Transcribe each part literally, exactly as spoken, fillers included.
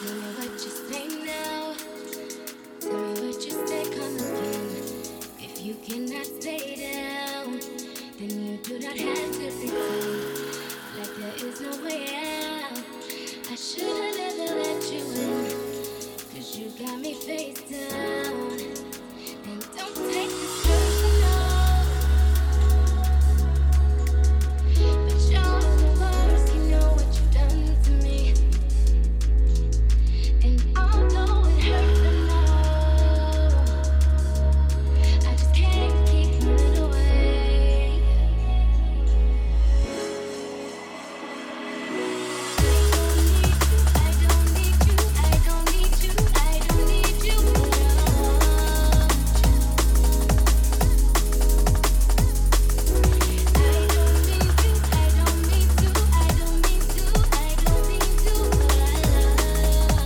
Tell me what you say now. Tell me what you say, come again. If you cannot stay down, then you do not have to pretend like there is no way out. I should have never let you in, cause you got me face down. Then don't take this personal, but you're the worst, you know what you've done to me. And although it hurts, I know I just can't keep running away. I don't need you, I don't need you, I don't need you, I don't need you, but I don't need you, I don't need to, I don't need to, I don't need to, but I love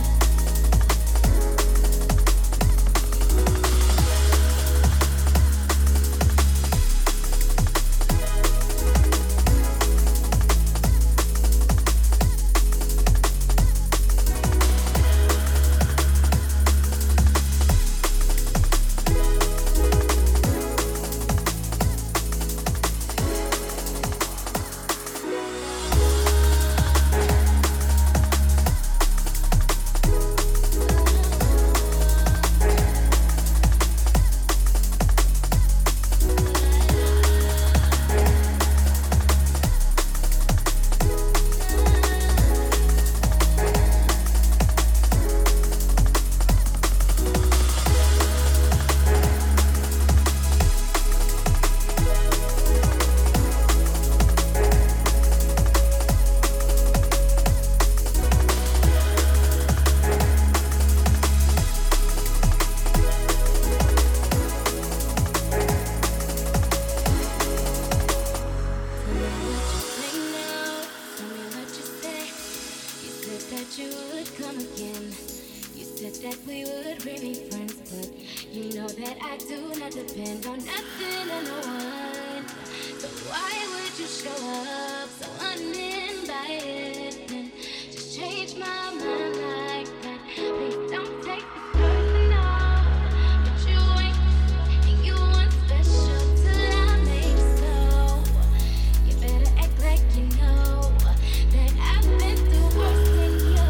that you would come again. You said that we would remain friends, but you know that I do not depend on nothing or no one. So why would you show up so uninvited and just change my mind like that? Please don't take this personal, but you ain't, and you weren't special till I make so. You better act like you know that I've been through worse than you.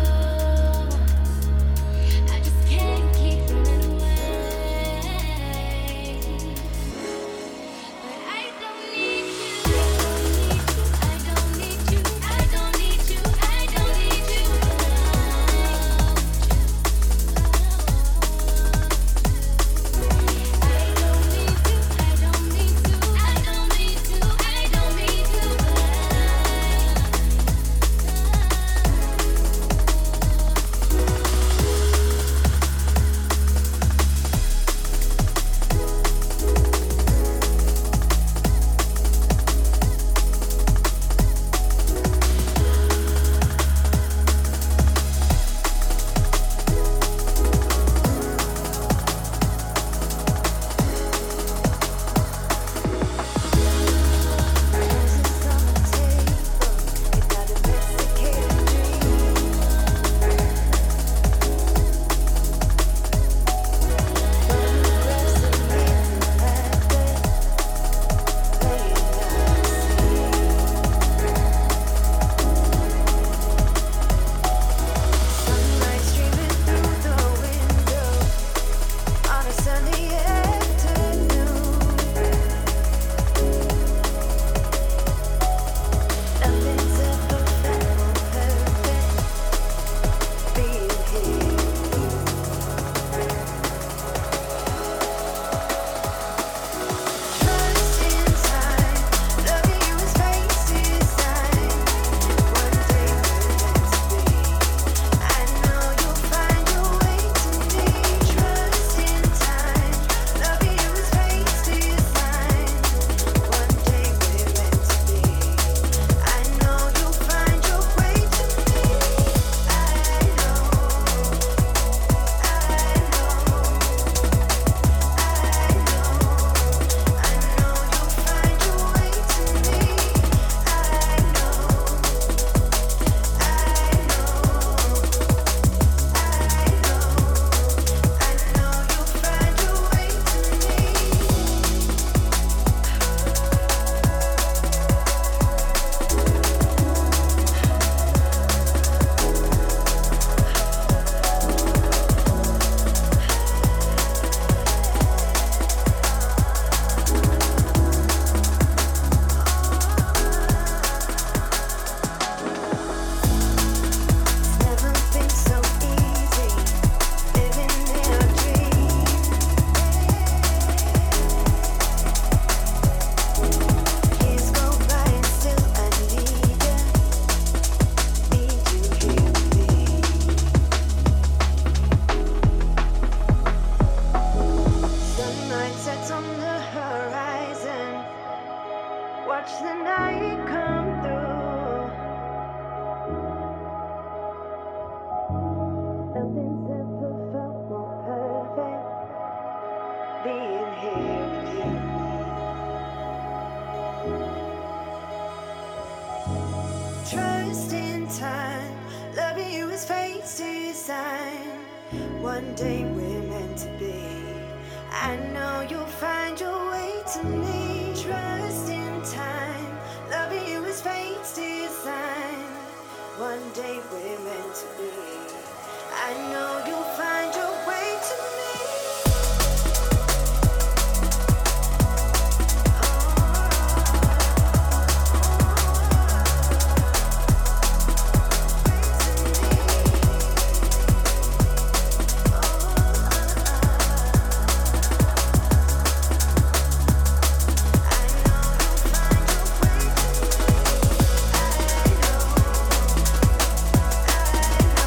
I just can't keep running away. But I don't need you, I don't need you, I don't need you. sign. One day we're meant to be. I know you'll find your way to me. Trust in time. Loving you is fate's design. One day we're meant to be. I know you'll find your way to me. I know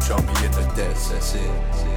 drop me in the depths, that's it.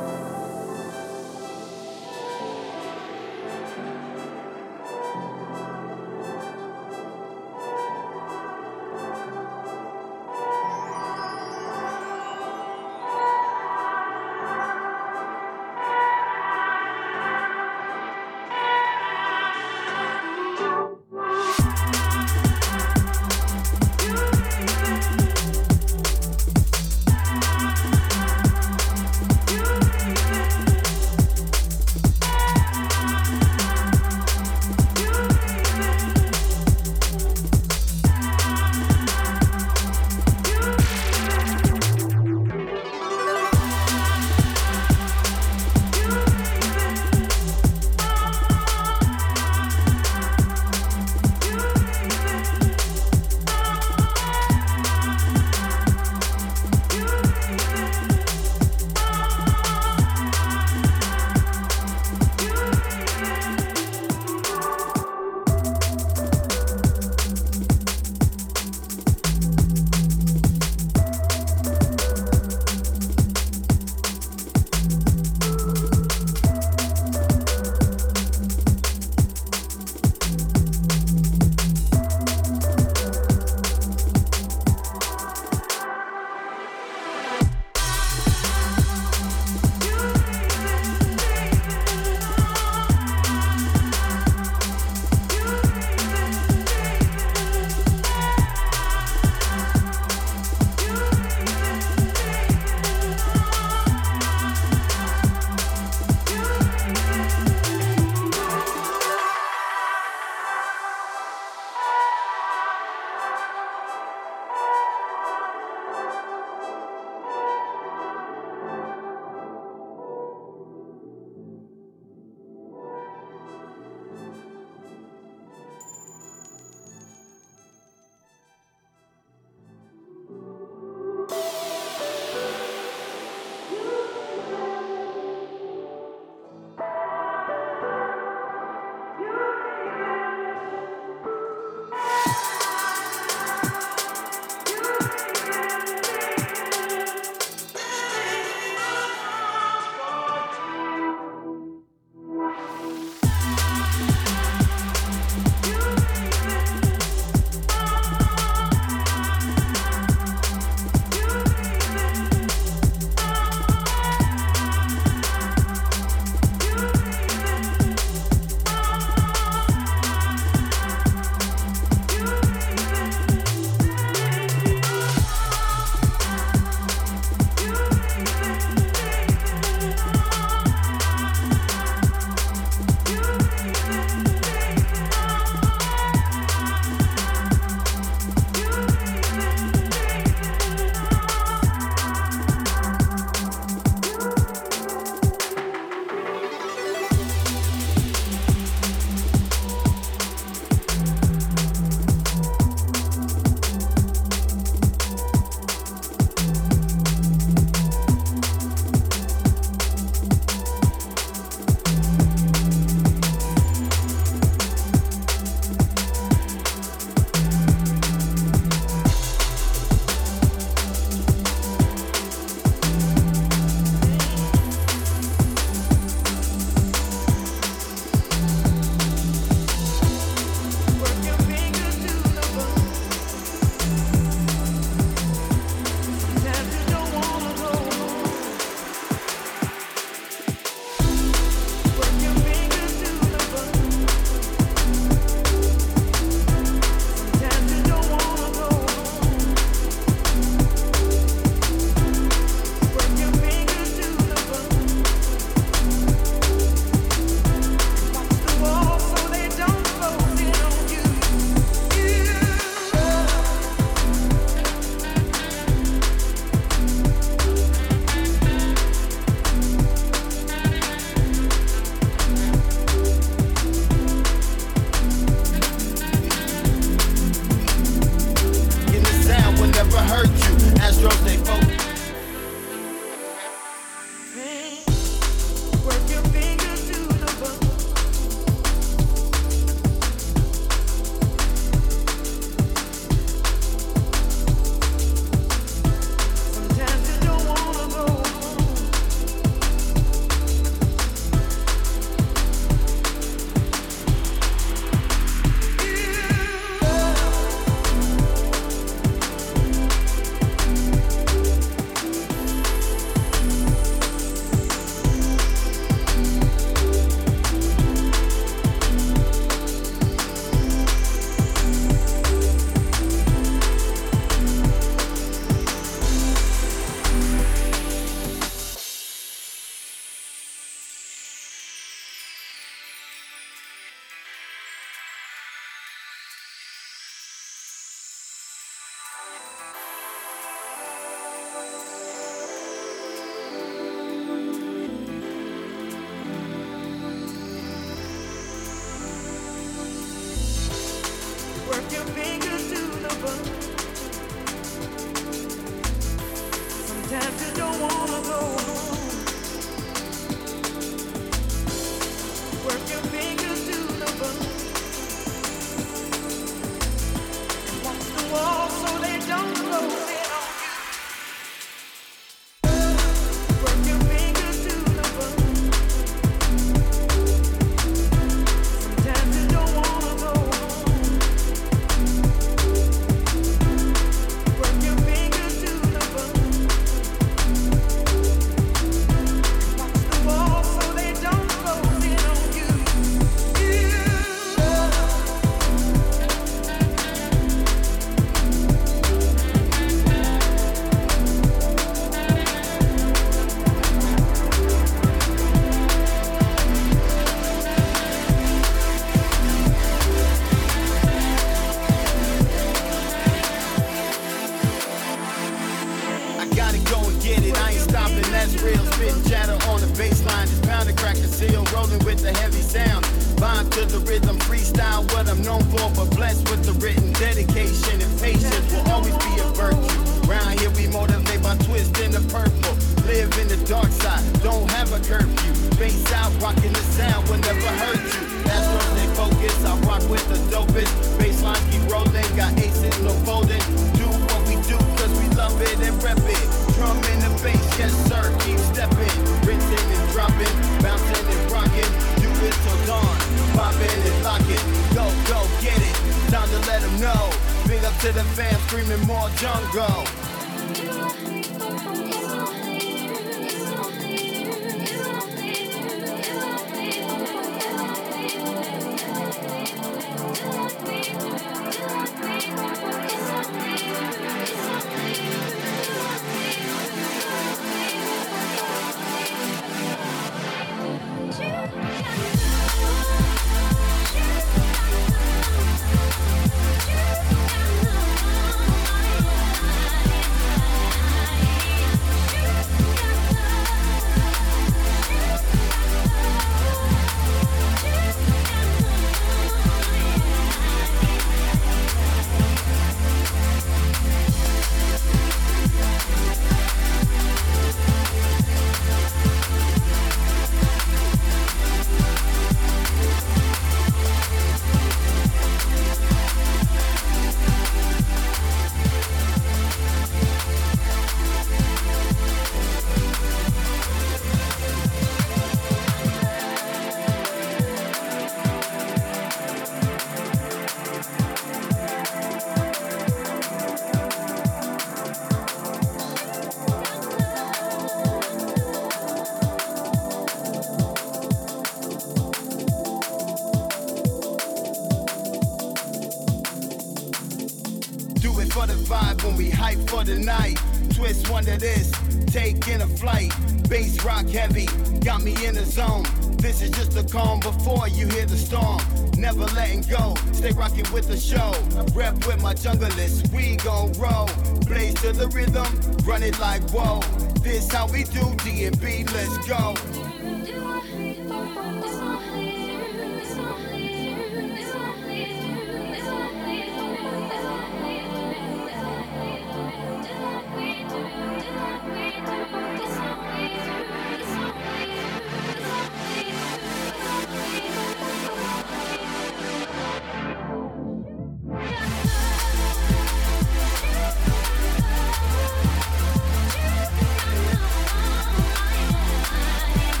Bye.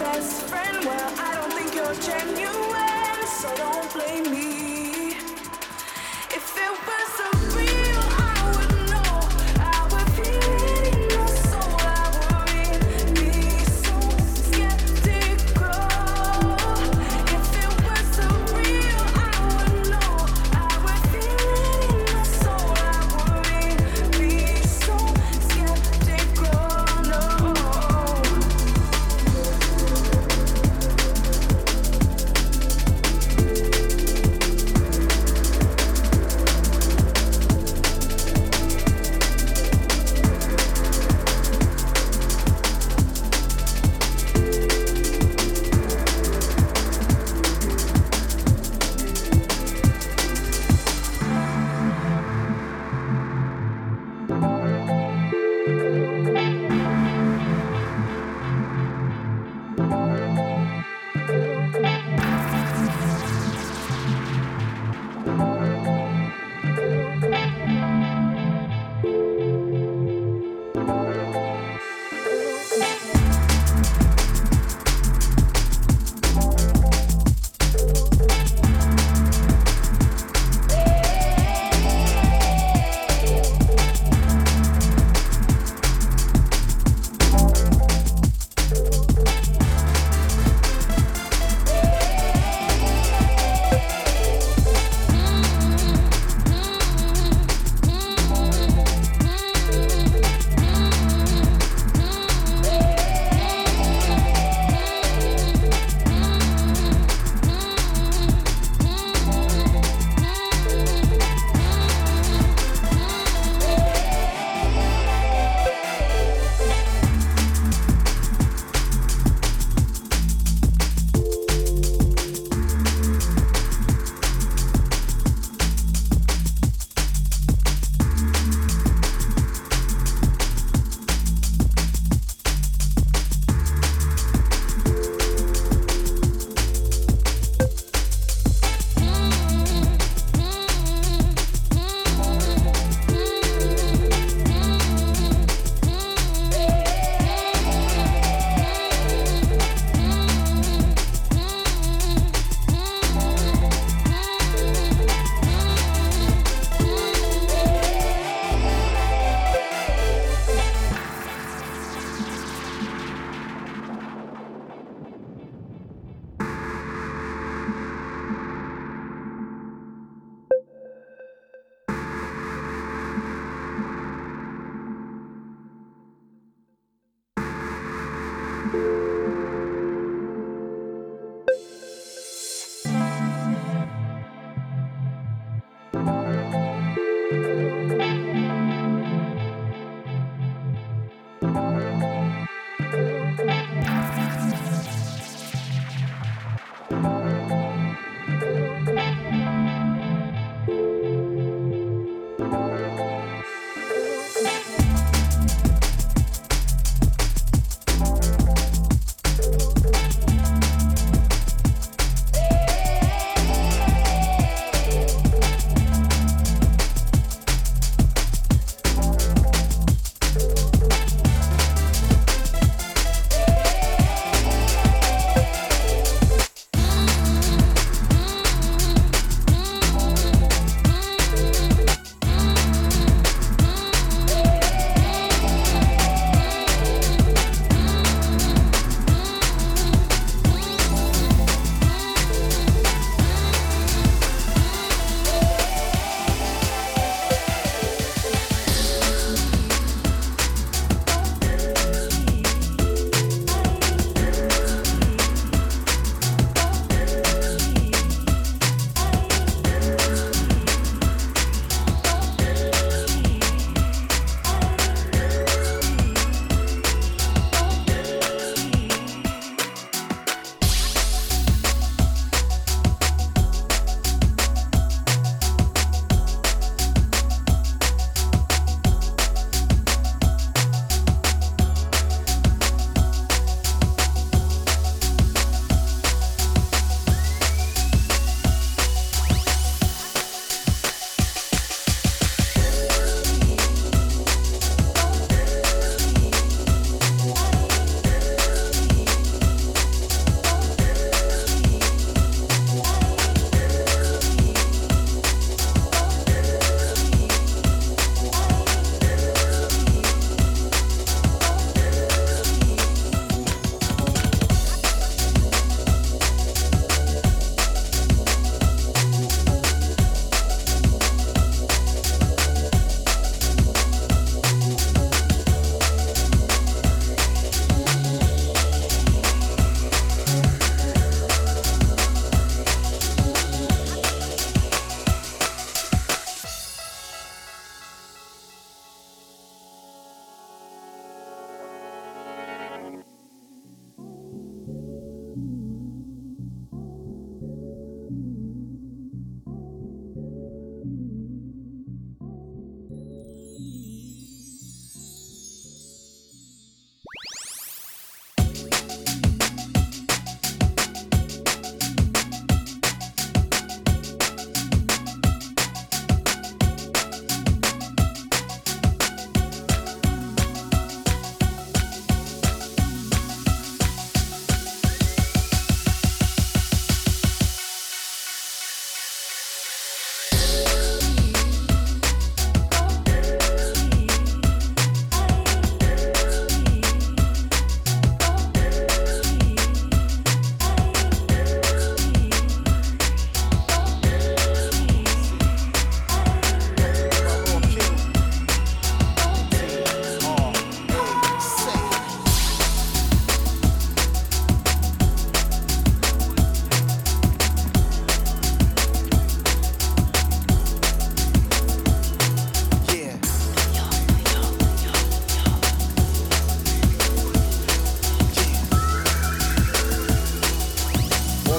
best friend. Well, I don't think you're genuine, so don't blame me. If it wasn't real, I would know. I would feel it in my soul. I would be so skeptical. If it wasn't real, I would know. I would feel it in my soul. I would be so skeptical. No.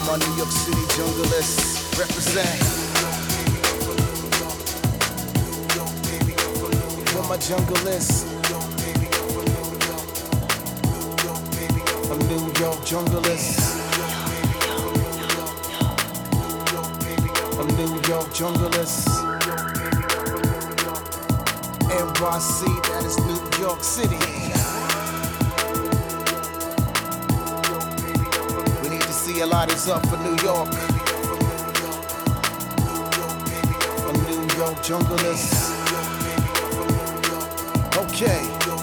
my New York City jungleists, represent. For my jungleists, I'm New York jungleists. I'm New York jungleists. N Y C, that is New York City. We need to see a lot is up for New York. I'm New York jungleists. Okay.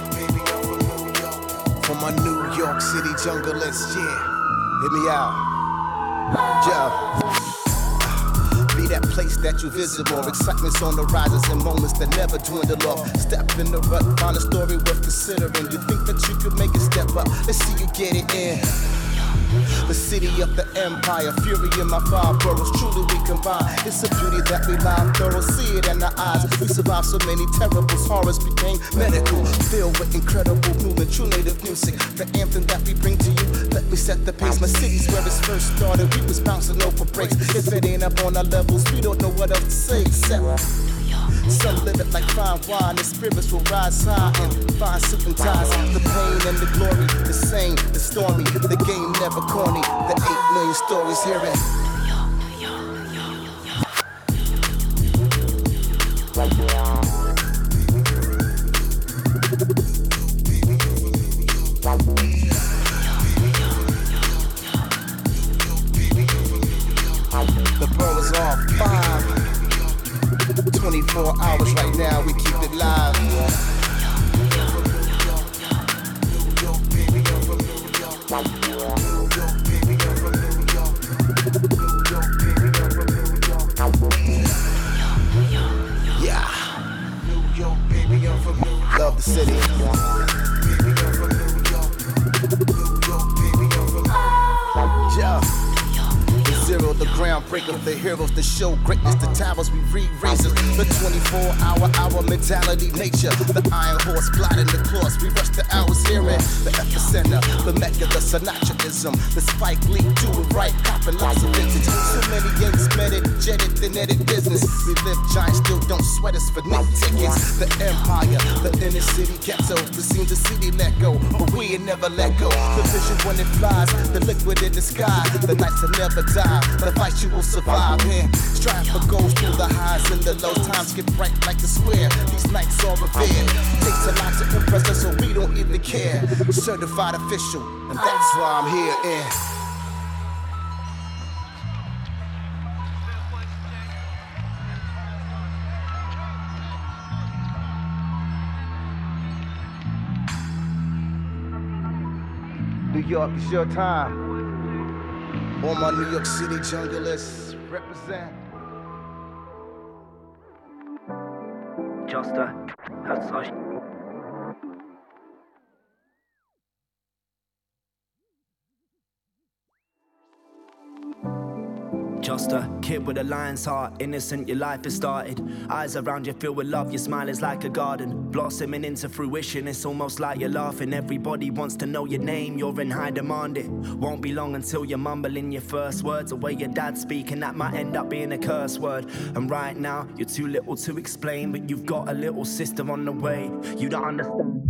For my New York City jungleists, yeah. Hit me out. Yeah. Be that place that you visit more. Excitement's on the rises and moments that never dwindle off. Step in the rut, find a story worth considering. You think that you could make it step up? Let's see you get it in. The city of the empire, fury in my five boroughs, truly we combine. It's a beauty that we lie thorough, see it in our eyes. We survived so many terrible horrors, became medical, filled with incredible movement, true native music. The anthem that we bring to you, let me set the pace. My city's where it first started, we was bouncing over breaks. If it ain't up on our levels, we don't know what else to say except some live it like fine wine, the spirits will rise high and find suit and ties. The pain and the glory, the same, the stormy, the game never corny. The eight million stories hearing. The borough's on five. twenty-four hours right now, we keep it live. Yeah. Love the city. Yeah. Zero, the groundbreaker, the heroes that show greatness, the towers we re-raisers, the twenty-four hour, hour mentality, nature, the iron horse, plotting the course, we rush the hours hearing, the epicenter, the mecca, the Sinatraism, the Spike Lee, do it right, copping lots of vintage, so many yanks met it, jetted, then edit business, we live giant, still don't sweat us for nick tickets, the empire, the inner city ghetto, the scenes the city let go, but we ain't never let go, the vision when it flies, the liquid in the sky, the nights will never die. The fight you will survive here. Strive for goals through the highs and the lows. Times get bright like the square. These nights are revered. Takes a lot to impress us, so we don't even care. Certified official, and that's why I'm here. In. New York, it's your time. All my New York City jungleists, represent. Just a hush. Just a kid with a lion's heart, innocent, your life has started. Eyes around you filled with love, your smile is like a garden, blossoming into fruition, it's almost like you're laughing. Everybody wants to know your name, you're in high demand. It won't be long until you're mumbling your first words, the way your dad's speaking, that might end up being a curse word. And right now, you're too little to explain, but you've got a little sister on the way, you don't understand.